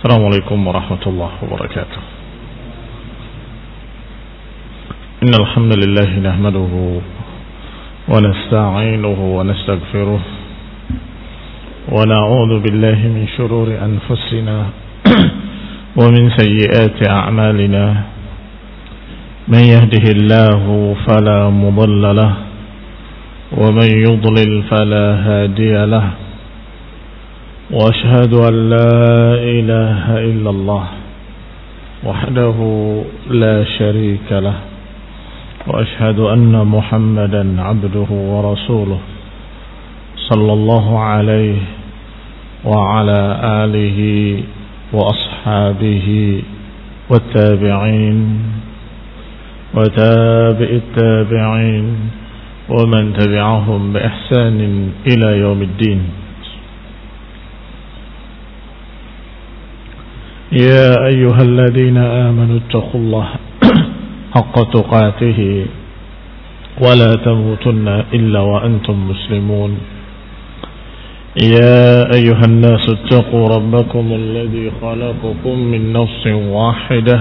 السلام عليكم ورحمة الله وبركاته. إن الحمد لله نحمده ونستعينه ونستغفره ونعوذ بالله من شرور أنفسنا ومن سيئات أعمالنا. من يهده الله فلا مضل له ومن يضلل فلا هادي له. وأشهد أن لا إله إلا الله وحده لا شريك له. وأشهد أن محمدا عبده ورسوله صلى الله عليه وعلى آله وأصحابه والتابعين وتابع التابعين ومن تبعهم بإحسان إلى يوم الدين. يا أيها الذين آمنوا اتقوا الله حق تقاته ولا تموتن إلا وأنتم مسلمون. يا أيها الناس اتقوا ربكم الذي خلقكم من نفس واحدة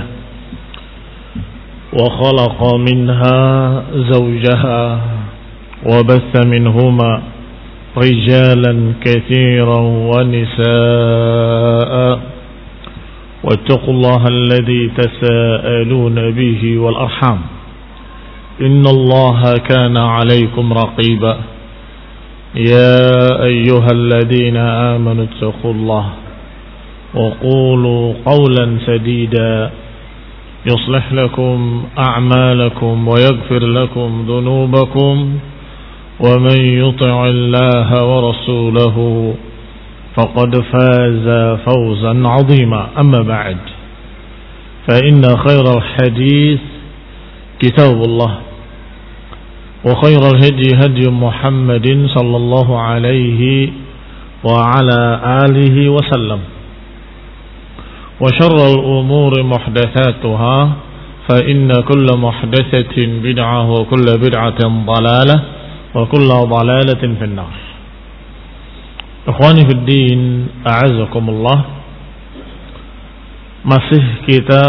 وخلق منها زوجها وبث منهما رجالا كثيرا ونساء. واتقوا الله الذي تساءلون به والأرحام إن الله كان عليكم رقيبا. يا أيها الذين آمنوا اتقوا الله وقولوا قولا سديدا يصلح لكم أعمالكم ويغفر لكم ذنوبكم ومن يطع الله ورسوله فقد فاز فوزا عظيما. أما بعد فإن خير الحديث كتاب الله وخير الهدي هدي محمد صلى الله عليه وعلى آله وسلم. وشر الأمور محدثاتها فإن كل محدثة بدعة وكل بدعة ضلالة وكل ضلالة في النار. Ikhwani fiddin, a'azakumullah. Masih kita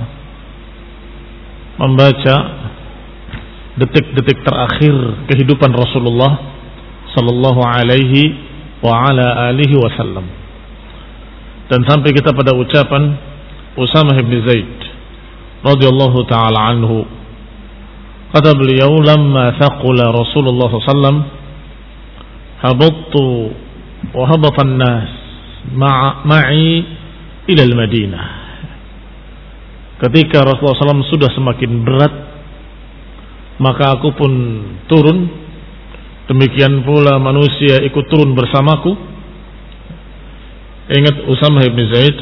membaca detik-detik terakhir kehidupan Rasulullah sallallahu alaihi wa ala alihi wasallam. Dan sampai kita pada ucapan Usamah bin Zaid radhiyallahu taala anhu. Kata beliau, "Lamma thaqula Rasulullah sallallahu alaihi wasallam habattu وهبط الناس معي إلى المدينة." Ketika Rasulullah SAW sudah semakin berat, maka aku pun turun. Demikian pula manusia ikut turun bersamaku. Ingat, Usamah bin Zaid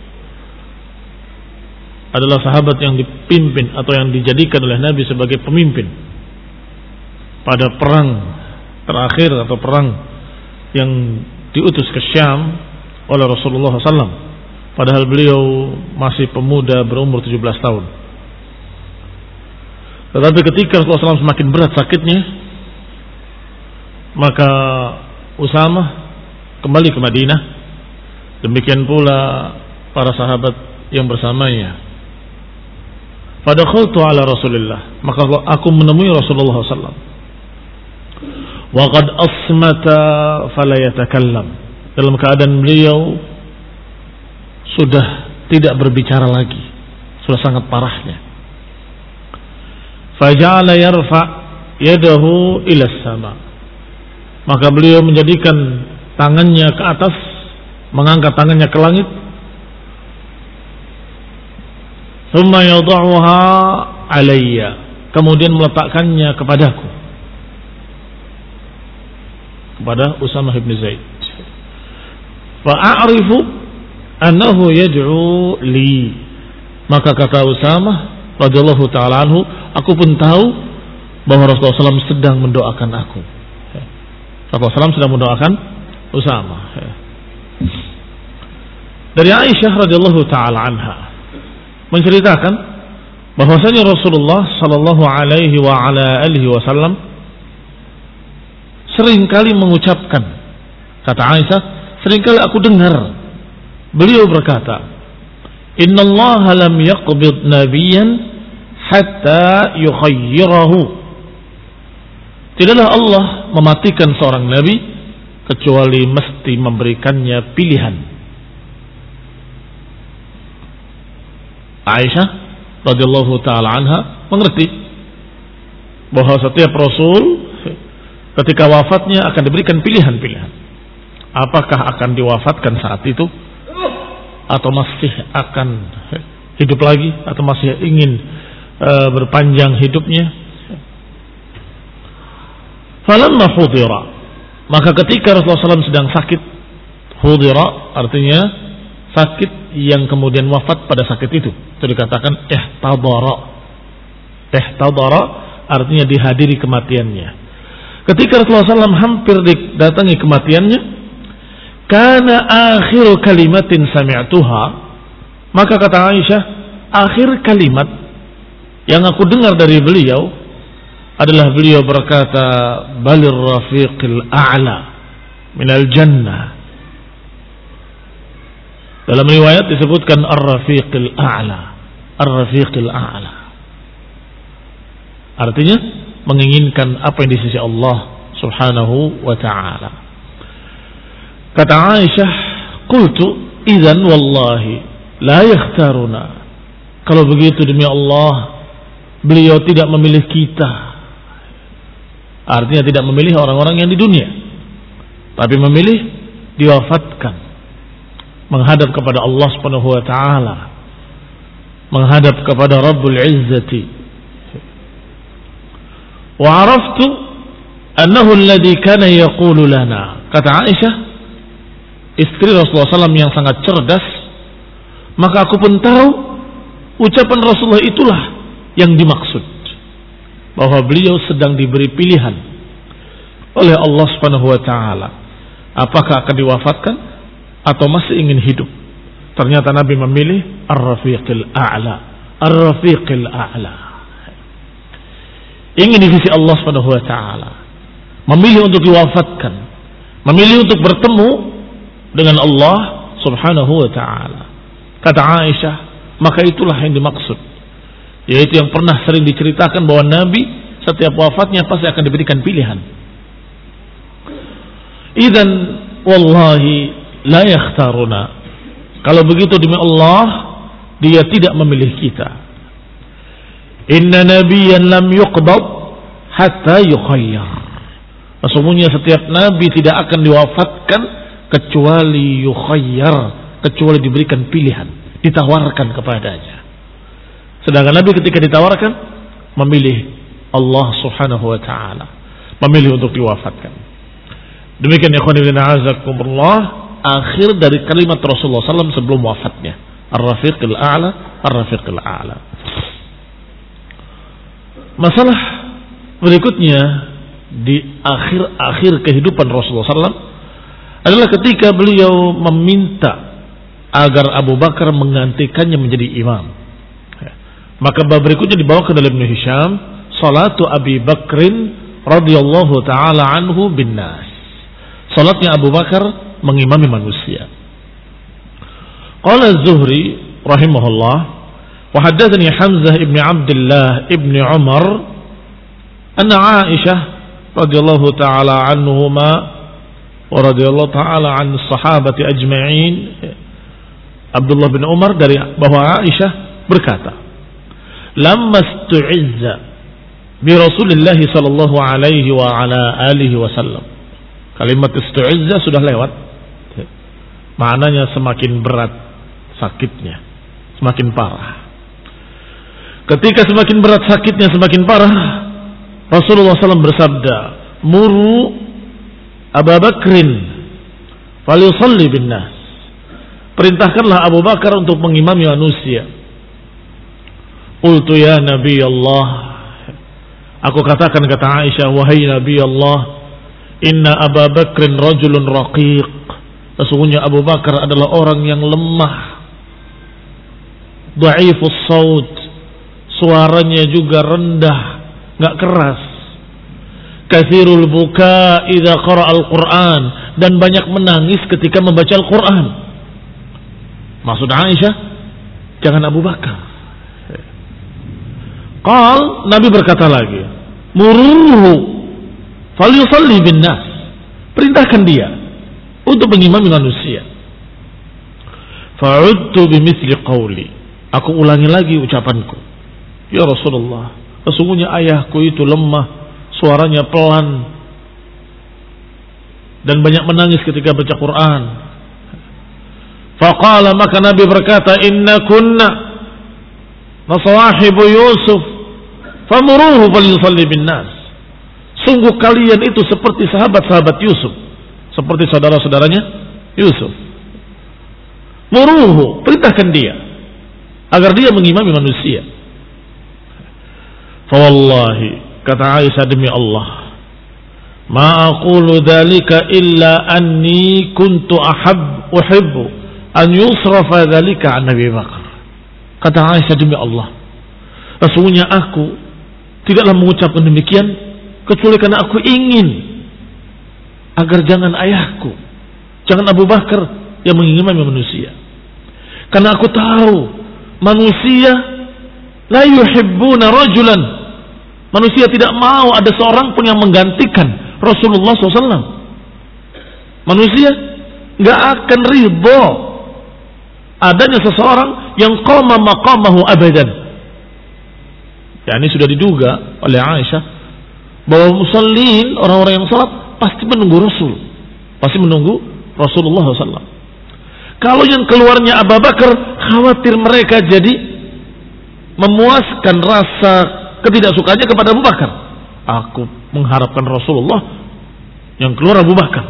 adalah sahabat yang dipimpin atau yang dijadikan oleh Nabi sebagai pemimpin pada perang terakhir atau perang yang diutus ke Syam oleh Rasulullah SAW. Padahal beliau masih pemuda berumur 17 tahun. Tetapi ketika Rasulullah SAW semakin berat sakitnya, maka Usamah kembali ke Madinah. Demikian pula para sahabat yang bersamanya. Fadakhaltu ala Rasulillah, maka aku menemui Rasulullah SAW. Waqad asmata fala yatakallam, dalam keadaan beliau sudah tidak berbicara lagi, sudah sangat parahnya. Faja'ala yarfa yadahu ila sama, maka beliau menjadikan tangannya ke atas, mengangkat tangannya ke langit. Thumma yad'uha alayya, kemudian meletakkannya kepadaku, kepada Usamah bin Zaid. Fa'arifu annahu yad'u li, maka kata Usamah radhiyallahu ta'ala anhu, aku pun tahu bahwa Rasulullah SAW sedang mendoakan aku. Rasulullah SAW sedang mendoakan Usamah. Dari Aisyah radhiyallahu ta'ala anha menceritakan bahwasanya Rasulullah sallallahu alaihi wa ala alihi wasallam seringkali mengucapkan, kata Aisyah, seringkali aku dengar beliau berkata, innallaha lam yaqbid nabiyyan hatta yukhayyirahu. Tidaklah Allah mematikan seorang nabi kecuali mesti memberikannya pilihan. Aisyah radhiyallahu taala anha mengerti bahwa setiap rasul ketika wafatnya akan diberikan pilihan-pilihan. Apakah akan diwafatkan saat itu atau masih akan hidup lagi atau masih ingin berpanjang hidupnya. Falamma hudira, maka ketika Rasulullah SAW sedang sakit, hudira artinya sakit yang kemudian wafat pada sakit itu dikatakan ihtadara artinya dihadiri kematiannya. Ketika Rasulullah SAW hampir didatangi kematiannya, kana akhiru kalimatin sami'tuha, maka kata Aisyah, akhir kalimat yang aku dengar dari beliau adalah beliau berkata, balir rafiqil a'la minal jannah. Dalam riwayat disebutkan ar-rafiqil a'la, ar-rafiqil a'la. Artinya menginginkan apa yang di sisi Allah Subhanahu wa ta'ala. Kata Aisyah, qultu idzan wallahi la yakhtaruna. Kalau begitu demi Allah, beliau tidak memilih kita. Artinya tidak memilih orang-orang yang di dunia, tapi memilih diwafatkan, menghadap kepada Allah Subhanahu wa taala, menghadap kepada Rabbul Izzati. Wa araftu annahu alladhi kana yaqulu lana. Kata Aisyah, istri Rasulullah SAW yang sangat cerdas, maka aku pun tahu ucapan Rasulullah itulah yang dimaksud, bahwa beliau sedang diberi pilihan oleh Allah Subhanahu wa taala, apakah akan diwafatkan atau masih ingin hidup. Ternyata Nabi memilih ar-rafiqil a'la, ar-rafiqil a'la. Ingin di sisi Allah Subhanahu wa taala, memilih untuk diwafatkan, memilih untuk bertemu dengan Allah Subhanahu wa taala. Kata Aisyah, maka itulah yang dimaksud, yaitu yang pernah sering diceritakan bahwa Nabi setiap wafatnya pasti akan diberikan pilihan. Idzan wallahi la yakhtaruna. Kalau begitu demi Allah, dia tidak memilih kita. Inna nabiyyan lam yuqbad hatta yukhayyar. Sesungguhnya setiap nabi tidak akan diwafatkan kecuali yukhayyar, kecuali diberikan pilihan, ditawarkan kepadanya. Sedangkan Nabi ketika ditawarkan memilih Allah Subhanahu wa taala, memilih untuk diwafatkan. Demikian ikhwan fillah azakumullah, akhir dari kalimat Rasulullah SAW sebelum wafatnya, ar-rafiqil a'la, ar-rafiqil a'la. Masalah berikutnya di akhir kehidupan Rasulullah SAW adalah ketika beliau meminta agar Abu Bakar menggantikannya menjadi imam. Maka bab berikutnya dibawakan oleh Ibnu Hisham, salatu Abi Bakrin radhiyallahu taala anhu bin nas. Salatnya Abu Bakar mengimami manusia. Qala Az-Zuhri rahimahullah, wa haddatsani Hamzah ibn Abdullah ibn Umar anna Aisyah radhiyallahu taala anhuma wa radhiyallahu taala an sahabati ajma'in. Abdullah bin Umar dari bahwa Aisyah berkata, lamma stu'izza bi Rasulillah sallallahu alaihi wa ala alihi wasallam. Kalimat istu'izza sudah lewat. Maknanya semakin berat sakitnya, semakin parah. Ketika semakin berat sakitnya, semakin parah, Rasulullah SAW bersabda, muru Abu Bakrin falyusalli bin nas. Perintahkanlah Abu Bakar untuk mengimami manusia. Qultu ya Nabi Allah, aku katakan, kata Aisyah, wahai Nabi Allah, inna Abu Bakrin rajulun raqiq. Sesungguhnya Abu Bakar adalah orang yang lemah, dhaifus saut, suaranya juga rendah, enggak keras. Katsirul buka idza qara'a al-Qur'an, dan banyak menangis ketika membaca Al-Qur'an. Maksud Aisyah, jangan Abu Bakar. Nabi berkata lagi, muruhu falyusalli bin nas. Perintahkan dia untuk mengimami manusia. Fa'udtu bimithli qawli. Aku ulangi lagi ucapanku. Ya Rasulullah, sesungguhnya ayahku itu lemah, suaranya pelan, dan banyak menangis ketika baca Quran. Faqala, maka Nabi berkata, inna kunna nasawahibu Yusuf famuruhu falyusalli bin nas. Sungguh kalian itu seperti sahabat-sahabat Yusuf, seperti saudara-saudaranya Yusuf. Muruhu, perintahkan dia agar dia mengimami manusia. Fa wallahi, kata Aisyah, demi Allah, ma aqulu dzalika illa anni kuntu uhibbu an yusrafa dzalika an Nabi Bakar. Kata Aisyah, demi Allah, sesungguhnya aku tidaklah mengucapkan demikian kecuali karena aku ingin agar jangan ayahku, jangan Abu Bakar yang mengimami manusia. Karena aku tahu manusia la yuhibbuna rajulan, manusia tidak mau ada seorang pun yang menggantikan Rasulullah SAW. Manusia nggak akan ridho adanya seseorang yang qama maqamahu abadan. Ya, ini sudah diduga oleh Aisyah bahwa musallin, orang-orang yang salat, pasti menunggu Rasul, pasti menunggu Rasulullah SAW. Kalau yang keluarnya Abu Bakar, khawatir mereka jadi memuaskan rasa ketidaksukaannya kepada Abu Bakar. Aku mengharapkan Rasulullah, yang keluar Abu Bakar.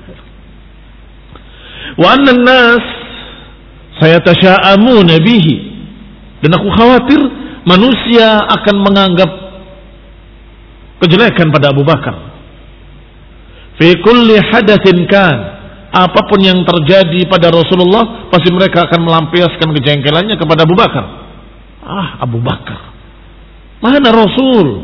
Wa anna an-nas sayatashaa'amuna bihi, dan aku khawatir manusia akan menganggap kejelekan pada Abu Bakar. Fi kulli hadatsin kan, apapun yang terjadi pada Rasulullah, pasti mereka akan melampiaskan kejengkelannya kepada Abu Bakar. Abu Bakar, mana Rasul?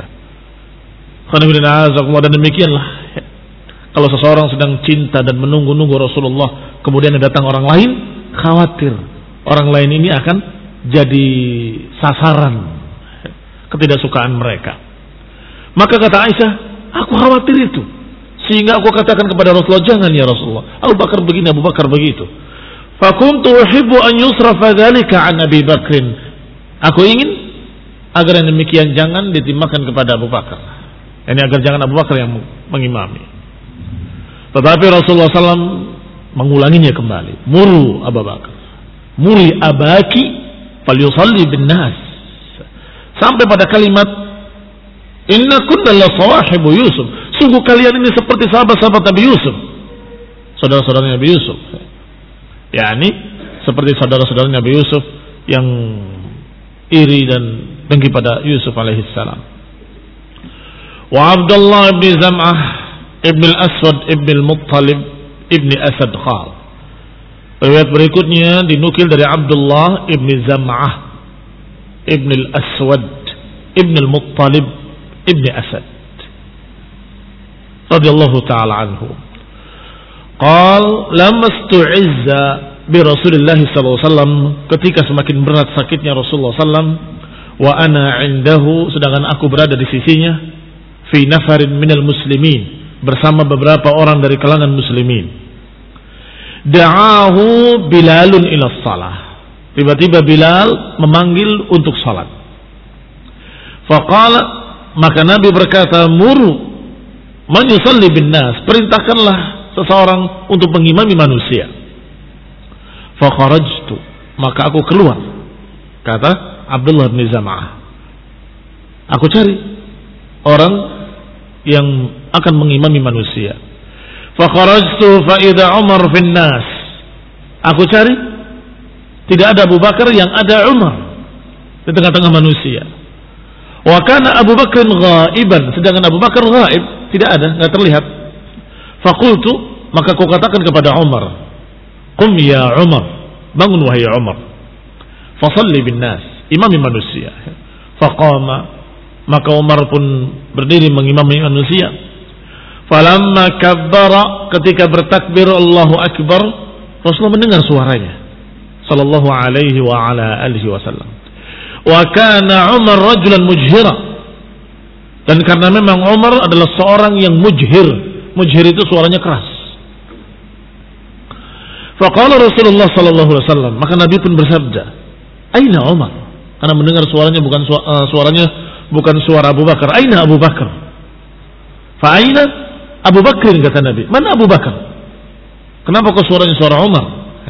Dan demikianlah, kalau seseorang sedang cinta dan menunggu-nunggu Rasulullah, kemudian datang orang lain, khawatir orang lain ini akan jadi sasaran ketidaksukaan mereka. Maka kata Aisyah, aku khawatir itu, sehingga aku katakan kepada Rasulullah, jangan ya Rasulullah, Abu Bakar begini, Abu Bakar begitu. Fakuntu uhibbu an yusrafa dzalika an Abi Bakrin. Aku ingin agar yang demikian jangan ditimpakan kepada Abu Bakar. Ini agar jangan Abu Bakar yang mengimami. Tetapi Rasulullah SAW mengulanginya kembali. Muru Abu Bakar, muri abaki falyusalli bin nas, sampai pada kalimat inna kunna la sawahibu Yusuf. Sungguh kalian ini seperti sahabat-sahabat Nabi Yusuf, saudara-saudara Nabi Yusuf. yakni seperti saudara-saudara Nabi Yusuf yang iri dan dengki pada Yusuf alaihissalam. Wa Abdullah bin Zam'ah ibn al-Aswad ibn al-Muttalib ibn Asad qal. Riwayat berikutnya dinukil dari Abdullah ibn Zam'ah ibn al-Aswad ibn al-Muttalib ibn Asad radhiyallahu ta'ala anhu. Qal lamastu'izza bi Rasulillah sallallahu alaihi wasallam, ketika semakin berat sakitnya Rasulullah sallam, wa ana indahu, sedangkan aku berada di sisinya, fi nafarin minal muslimin, bersama beberapa orang dari kalangan muslimin. Da'ahu Bilalun ila shalah, tiba-tiba Bilal memanggil untuk salat. Faqala, maka Nabi berkata, muru man yusalli bin nas, perintahkanlah seseorang untuk mengimami manusia. Fakharajtu, maka aku keluar, kata Abdullah bin Zam'ah, aku cari orang yang akan mengimami manusia. Fakharajtu fa idza Umar fin nas, aku cari, tidak ada Abu Bakar, yang ada Umar di tengah-tengah manusia. Wa kana Abu Bakr ghaiban, sedangkan Abu Bakar ghaib, tidak ada, enggak terlihat. Faqultu, maka aku katakan kepada Umar, qum ya Umar, bangun wahai Umar, fasalli bin nas, imami manusia. Faqama, maka Umar pun berdiri mengimami manusia. Falamma kabbara, ketika bertakbir Allahu akbar, Rasulullah mendengar suaranya. sallallahu alaihi wa ala alihi wasallam. Wa kana Umar rajulan mujhira. Dan karena memang Umar adalah seorang yang mujhir. Mujhir itu suaranya keras. Faqala Rasulullah sallallahu alaihi wasallam, maka Nabi pun bersabda, "Aina Umar?" Karena mendengar suaranya bukan suara Abu Bakar. "Aina Abu Bakar?" Fa aina Abu Bakr, kata Nabi. "Mana Abu Bakar?" Kenapa kok suaranya suara Umar?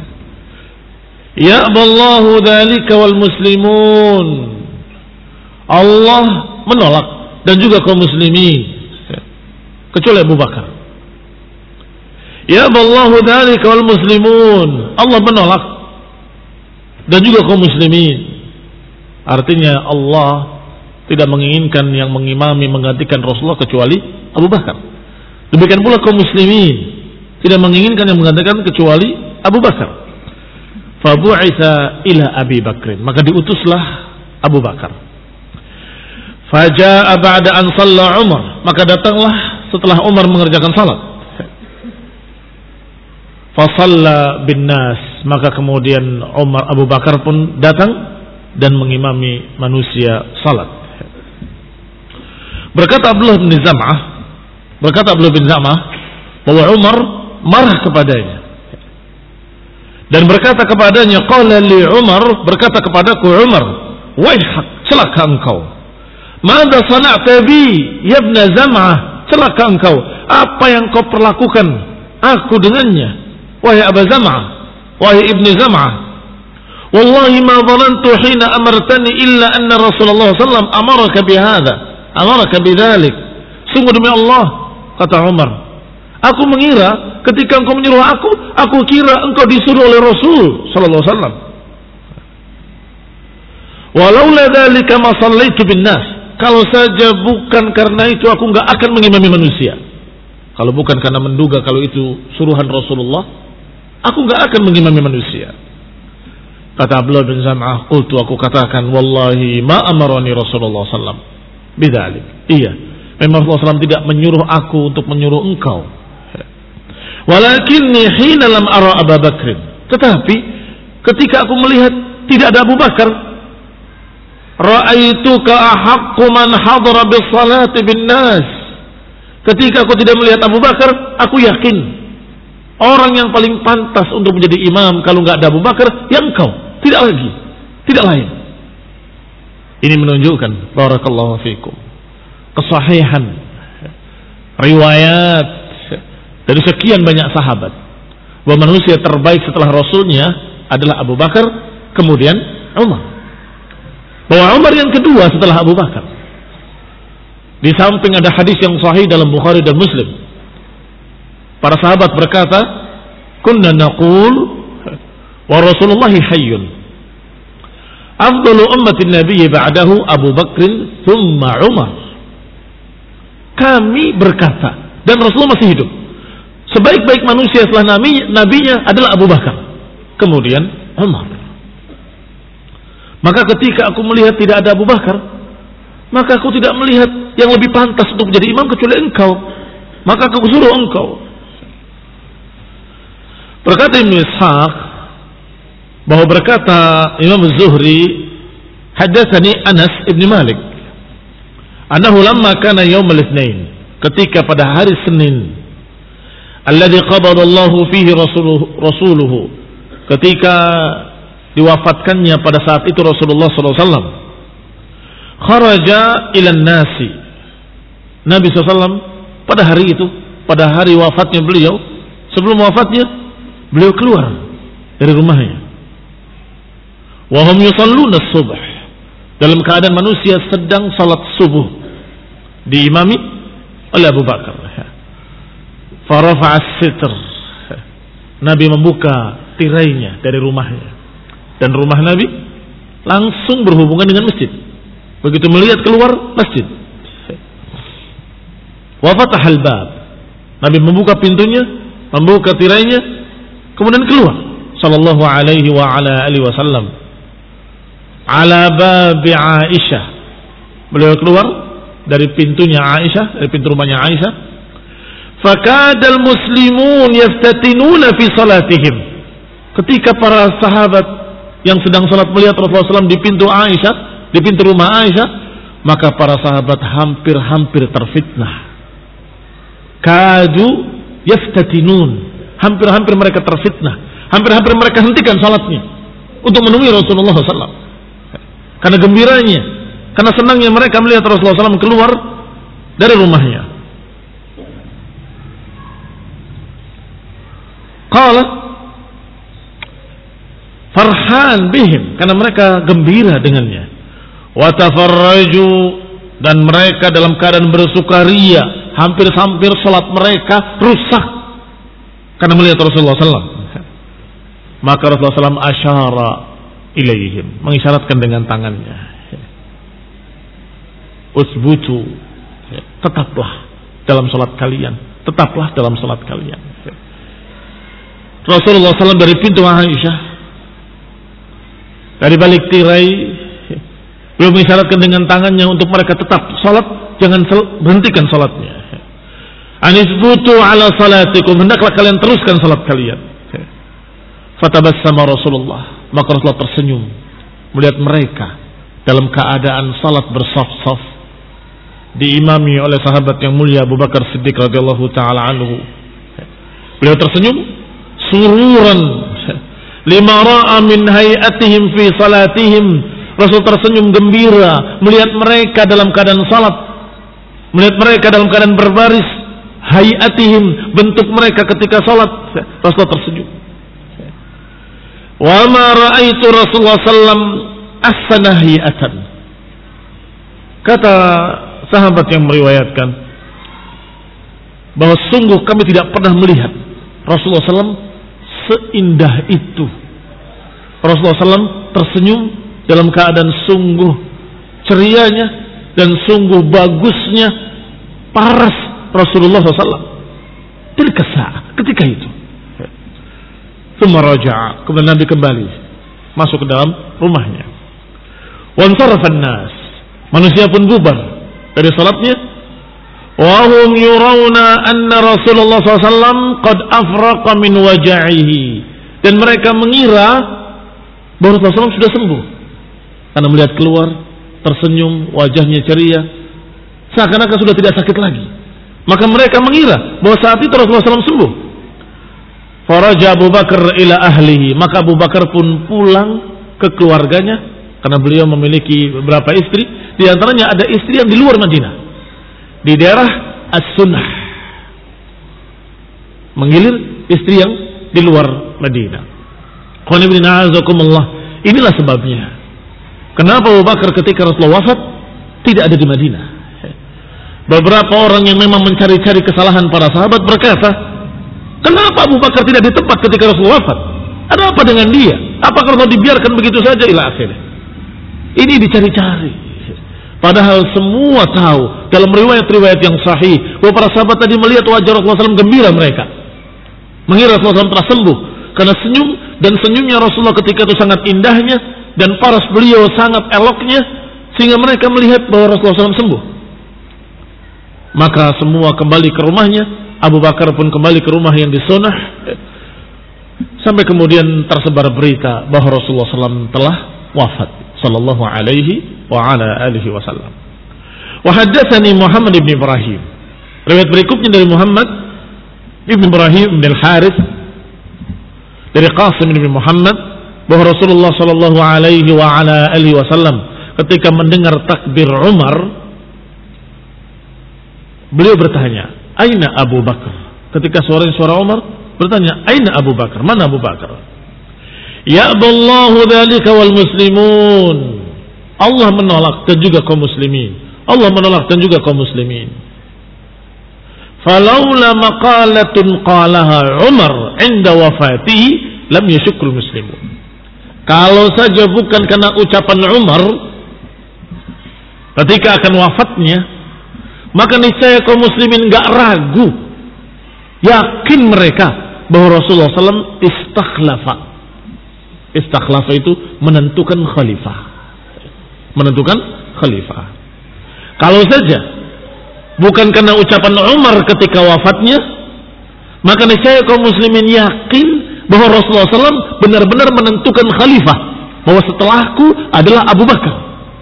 "Ya Allahu dzalika wal muslimun." Allah menolak dan juga kaum muslimin, kecuali Abu Bakar. "Ya Allahu dzalika wal muslimun." Allah menolak dan juga kaum muslimin. Artinya Allah tidak menginginkan yang mengimami menggantikan Rasulullah kecuali Abu Bakar. Demikian pula kaum muslimin tidak menginginkan yang menggantikan kecuali Abu Bakar. Fabu'itsa ila Abi Bakr, maka diutuslah Abu Bakar. Faja'a ba'da an shalla Umar, maka datanglah setelah Umar mengerjakan salat. Fasalla bin nas, maka kemudian Abu Bakar pun datang dan mengimami manusia salat. Berkata Abdullah bin Zam'ah bahwa Umar marah kepadanya dan berkata kepadanya, qala li Umar, berkata kepadaku Umar, waihak, celaka engkau. Mada sana'ta bi ya ibn Zam'ah, celaka engkau, apa yang kau perlakukan aku dengannya, wahai Abu Zam'ah, wahai ibn Zam'ah. Wallahi ma dhanantu hina amartani illa anna Rasulullah sallallahu amaraka bihadza, amaraka bidzalik. Sungguh demi Allah, kata Umar, aku mengira ketika engkau menyuruh aku kira engkau disuruh oleh Rasul sallallahu alaihi wasallam. Walaula dzalika ma shallaitu bin nas. Kalau saja bukan karena itu aku enggak akan mengimami manusia. Kalau bukan karena menduga kalau itu suruhan Rasulullah, aku enggak akan mengimami manusia. Kata Abdullah bin Zam'ah, qultu, aku katakan, wallahi ma amarani Rasulullah sallallahu alaihi wasallam bidzalik. Iya, memang Rasulullah SAW tidak menyuruh aku untuk menyuruh engkau. Walakinni hina lam ara Abu Bakr. Tetapi ketika aku melihat tidak ada Abu Bakar, ra'aituka ahaqqu man hadara bis salati bin nas. Ketika aku tidak melihat Abu Bakar, aku yakin orang yang paling pantas untuk menjadi imam kalau enggak ada Abu Bakar, ya engkau, tidak lagi, tidak lain. Ini menunjukkan barakallahu fikum kesahihan riwayat dari sekian banyak sahabat bahwa manusia terbaik setelah Rasulnya adalah Abu Bakar, kemudian Umar. Bahwa Umar yang kedua setelah Abu Bakar. Di samping ada hadis yang sahih dalam Bukhari dan Muslim. Para sahabat berkata, kunna naqul wa Rasulullahi hayyun. Afdalu ummatin nabiyyi ba'dahu Abu Bakr thumma Umar. Kami berkata, dan Rasulullah masih hidup, sebaik-baik manusia setelah nabinya adalah Abu Bakar, kemudian Umar. Maka ketika aku melihat tidak ada Abu Bakar, maka aku tidak melihat yang lebih pantas untuk menjadi imam kecuali engkau, maka aku suruh engkau. Berkata Ibn Ishaq bahwa berkata Imam Az-Zuhri, hadatsani Anas ibn Malik annahu lamma kana yaum al-itsnain, ketika pada hari Senin, alladzi qabada Allahu fihi rasuluhu, ketika diwafatkannya pada saat itu Rasulullah sallallahu alaihi wasallam, kharaja ila nasi, Nabi sallallahu alaihi wasallam pada hari itu, pada hari wafatnya beliau, sebelum wafatnya beliau keluar dari rumahnya. Wa hum yusalluna as-subh, dalam keadaan manusia sedang salat subuh, diimami oleh Abu Bakar. Farafa'a as-sitr, Nabi membuka tirainya dari rumahnya, dan rumah Nabi langsung berhubungan dengan masjid. Begitu melihat keluar masjid, wa fatahal bab, Nabi membuka pintunya, membuka tirainya, kemudian keluar sallallahu alaihi wa ala alihi wasallam ala babi Aisyah. Beliau keluar dari pintunya Aisyah, dari pintu rumahnya Aisyah. Fakadal muslimun yaftatinuna fi salatihim, ketika para sahabat yang sedang salat melihat Rasulullah SAW di pintu Aisyah, di pintu rumah Aisyah, maka para sahabat hampir-hampir terfitnah. Kadu yaftatinun, hampir-hampir mereka terfitnah, hampir-hampir mereka hentikan salatnya untuk menemui Rasulullah SAW. Karena gembiranya, karena senangnya mereka melihat Rasulullah SAW keluar dari rumahnya. Qala farhan bihim, karena mereka gembira dengannya. Wa tafarraju, dan mereka dalam keadaan bersukaria, hampir-hampir salat mereka rusak karena melihat Rasulullah SAW. Maka Rasulullah SAW asyara ilaihim, mengisyaratkan dengan tangannya, usbutu, tetaplah dalam salat kalian, tetaplah dalam salat kalian. Rasulullah SAW dari pintu Aisyah, dari balik tirai, beliau mengisyaratkan dengan tangannya untuk mereka tetap salat, jangan berhentikan salatnya. Anisbutu ala salatikum, hendaklah kalian teruskan salat kalian. Fatabassama Rasulullah, maka Rasulullah tersenyum melihat mereka dalam keadaan salat bersaf-saf, diimami oleh sahabat yang mulia Abu Bakar Siddiq radhiyallahu taala anhu. Beliau tersenyum sururan lima ra'a min hayatihim fi salatihim. Rasul tersenyum gembira melihat mereka dalam keadaan salat, melihat mereka dalam keadaan berbaris. Hayatihim, bentuk mereka ketika salat. Rasul tersenyum. Wa ma ra'aitu Rasulullah sallam ahsana hayatan. Kata sahabat yang meriwayatkan bahwa sungguh kami tidak pernah melihat Rasulullah SAW seindah itu. Rasulullah SAW tersenyum dalam keadaan sungguh cerianya dan sungguh bagusnya paras Rasulullah SAW. Tilka saat, ketika itu. Tsumma raja'a, kemudian Nabi kembali masuk ke dalam rumahnya. Wansarafan nas, manusia pun bubar dari salatnya. Wa hum yurawna anna Rasulullah SAW qad afraqa min waja'ihi, dan mereka mengira bahwa Rasulullah SAW sudah sembuh karena melihat keluar tersenyum, wajahnya ceria, seakan-akan sudah tidak sakit lagi. Maka mereka mengira bahwa saat itu Rasulullah SAW sembuh. Faraja Abu Bakar ila ahlihi, maka Abu Bakar pun pulang ke keluarganya, karena beliau memiliki beberapa istri. Di antaranya ada istri yang di luar Madinah, di daerah As-Sunnah, menggilir istri yang di luar Madinah. Inilah sebabnya kenapa Abu Bakar ketika Rasulullah wafat tidak ada di Madinah. Beberapa orang yang memang mencari-cari kesalahan para sahabat berkata, kenapa Abu Bakar tidak di tempat ketika Rasulullah wafat? Ada apa dengan dia? Apakah Rasulullah dibiarkan begitu saja? Ila akhirnya. Ini dicari-cari. Padahal semua tahu dalam riwayat-riwayat yang sahih bahwa para sahabat tadi melihat wajah Rasulullah SAW gembira mereka, mengira Rasulullah SAW telah sembuh karena senyum, dan senyumnya Rasulullah ketika itu sangat indahnya dan paras beliau sangat eloknya, sehingga mereka melihat bahwa Rasulullah SAW sembuh. Maka semua kembali ke rumahnya. Abu Bakar pun kembali ke rumah yang di Sunnah, sampai kemudian tersebar berita bahwa Rasulullah SAW telah wafat sallallahu alaihi wa ala alihi wasallam. Wa haddatsani Muhammad ibn Ibrahim. Riwayat berikutnya dari Muhammad ibn Ibrahim bin Al-Harith dari Qasim bin Muhammad bahwa Rasulullah sallallahu alaihi wa ala alihi wasallam ketika mendengar takbir Umar, beliau bertanya, "Aina Abu Bakar?" Ketika suara Umar bertanya, "Aina Abu Bakar? Mana Abu Bakar?" "Ya'ballahu dzalika wal muslimun." Allah menolak dan juga kaum muslimin. Allah menolak dan juga kaum muslimin. "Falaula maqalatun qalaha Umar 'inda wafatihi lam yashukul muslimun." Kalau saja bukan karena ucapan Umar ketika akan wafatnya, maka niscaya kaum muslimin gak ragu, yakin mereka bahwa Rasulullah SAW istakhlafa. Istakhlafa itu menentukan khalifah. Menentukan khalifah. Kalau saja bukan karena ucapan Umar ketika wafatnya, maka niscaya kaum muslimin yakin bahwa Rasulullah SAW benar-benar menentukan khalifah bahwa setelahku adalah Abu Bakar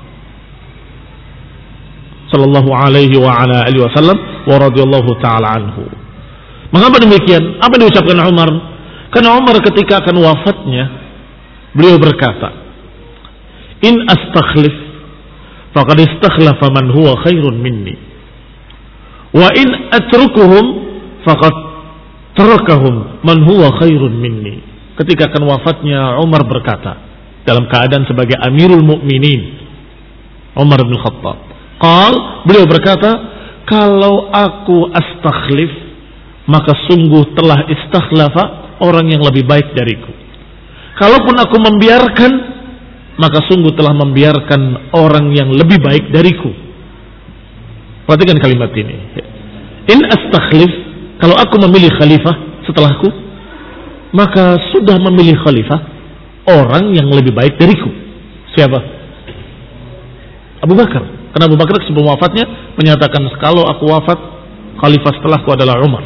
sallallahu alaihi wa ala alihi wasallam wa radhiyallahu taala anhu. Mengapa demikian? Apa yang diucapkan Umar? Karena Umar ketika akan wafatnya, beliau berkata, "In astakhlif faqad istakhlafa man huwa khairun minni. Wa in atrukuhum faqad tarakahum man huwa khairun minni." Ketika akan wafatnya, Umar berkata dalam keadaan sebagai Amirul Mukminin, Umar bin Khattab, beliau berkata, kalau aku astakhlif, maka sungguh telah istakhlafa orang yang lebih baik dariku. Kalaupun aku membiarkan, maka sungguh telah membiarkan orang yang lebih baik dariku. Perhatikan kalimat ini. In astakhlif, kalau aku memilih khalifah setelahku, maka sudah memilih khalifah orang yang lebih baik dariku. Siapa? Abu Bakar. Karena Abu Bakar sebelum wafatnya menyatakan, kalau aku wafat, khalifah setelahku adalah Umar.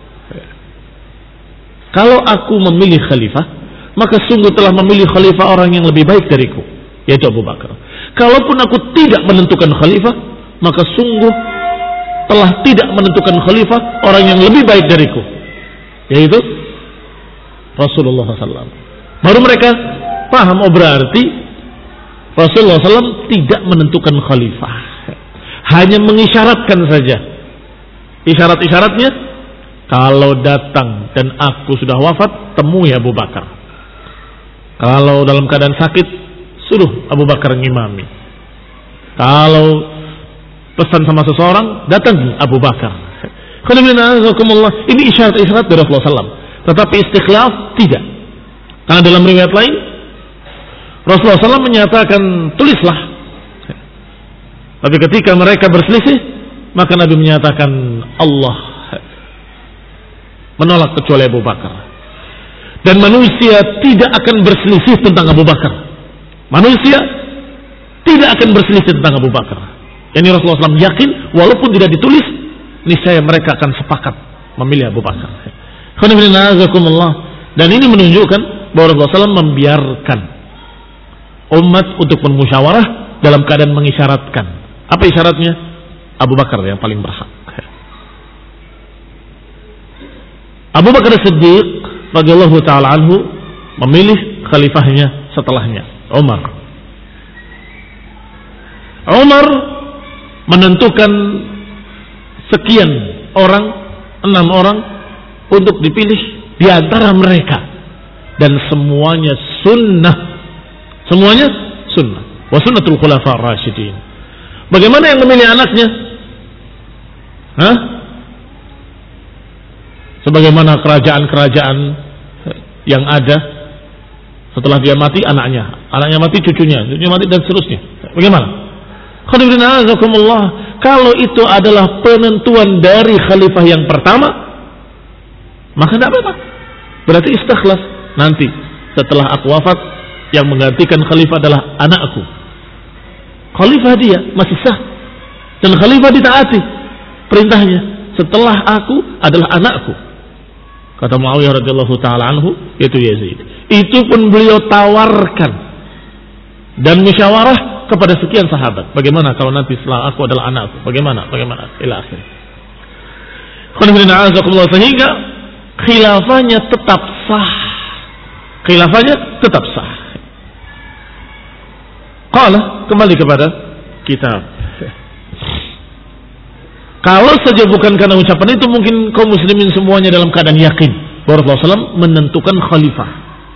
Kalau aku memilih khalifah, maka sungguh telah memilih khalifah orang yang lebih baik dariku, yaitu Abu Bakar. Kalaupun aku tidak menentukan khalifah, maka sungguh telah tidak menentukan khalifah orang yang lebih baik dariku, yaitu Rasulullah SAW. Baru mereka paham, oh berarti Rasulullah SAW tidak menentukan khalifah, hanya mengisyaratkan saja. Isyarat-isyaratnya, kalau datang dan aku sudah wafat, temui Abu Bakar. Kalau dalam keadaan sakit, suruh Abu Bakar ngimami. Kalau pesan sama seseorang, datang Abu Bakar. Ini isyarat-isyarat dari Rasulullah SAW. Tetapi istikhlaf tidak. Karena dalam riwayat lain, Rasulullah SAW menyatakan, tulislah. Tapi ketika mereka berselisih, maka Nabi menyatakan, Allah menolak kecuali Abu Bakar. Dan manusia tidak akan berselisih tentang Abu Bakar. Manusia tidak akan berselisih tentang Abu Bakar. Yani Rasulullah SAW yakin, walaupun tidak ditulis, niscaya mereka akan sepakat memilih Abu Bakar. Dan ini menunjukkan bahwa Rasulullah SAW membiarkan umat untuk bermusyawarah dalam keadaan mengisyaratkan. Apa isyaratnya? Abu Bakar yang paling berhak. Abu Bakar Siddiq radhiyallahu taala anhu memilih khalifahnya setelahnya, Umar. Umar menentukan sekian orang, 6 orang untuk dipilih di antara mereka, dan semuanya sunnah. Semuanya sunnah. Wa sunnatul khulafa ar-rasyidin. Bagaimana yang memilih anaknya? Sebagaimana kerajaan-kerajaan yang ada, setelah dia mati anaknya mati cucunya mati dan seterusnya. Bagaimana? Kalau itu adalah penentuan dari khalifah yang pertama, maka tidak apa-apa. Berarti istakhlaf. Nanti setelah aku wafat, yang menggantikan khalifah adalah anakku. Khalifah dia masih sah, dan khalifah ditaati perintahnya. Setelah aku adalah anakku. Kata Muawiyah radhiyallahu taala anhu, yaitu Yazid. Itu pun beliau tawarkan dan musyawarah kepada sekian sahabat. Bagaimana kalau nanti setelah aku adalah anakku? Bagaimana? Ila akhir. Sehingga khilafahnya tetap sah. Kembali kepada kitab. Kalau saja bukan karena ucapan itu, mungkin kaum muslimin semuanya dalam keadaan yakin bahwa Rasulullah SAW menentukan khalifah.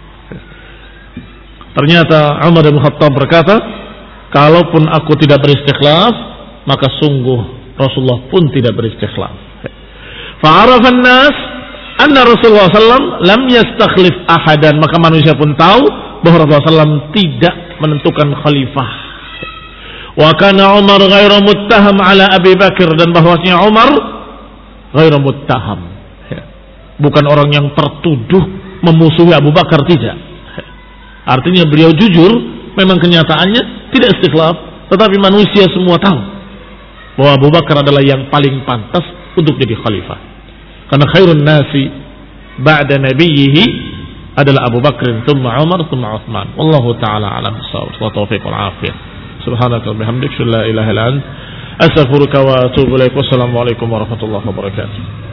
Ternyata Umar bin Khattab berkata, kalaupun aku tidak beristikhlaf, maka sungguh Rasulullah pun tidak beristikhlaf. Fa'arafan nas anna Rasulullah SAW lam yastakhlif ahadan. Maka manusia pun tahu bahwa Rasulullah SAW tidak menentukan khalifah. Wa kana Umar ghairu muttaham ala Abi Bakar, dan bahwasanya Umar ghairu muttaham, bukan orang yang tertuduh memusuhi Abu Bakar, tidak. Artinya beliau jujur, memang kenyataannya tidak istikhlaf, tetapi manusia semua tahu bahwa Abu Bakar adalah yang paling pantas untuk jadi khalifah. Karena khairun nasi ba'da nabiyhi adalah Abu Bakr, thumma Umar, thumma Utsman. Wallahu taala a'lam bissawab. Wa taufiq wal afiyah. Subhanaka wa bihamdika la ilaha illa anta astaghfiruka wa atubu ilaik. Wassalamu alaikum warahmatullahi wabarakatuh.